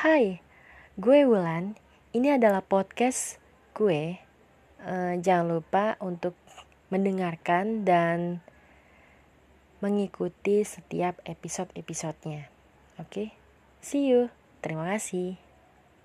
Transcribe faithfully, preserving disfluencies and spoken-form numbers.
Hai, gue Wulan. Ini adalah podcast gue. Eh, jangan lupa untuk mendengarkan dan mengikuti setiap episode-episodenya. Oke, see you. Terima kasih.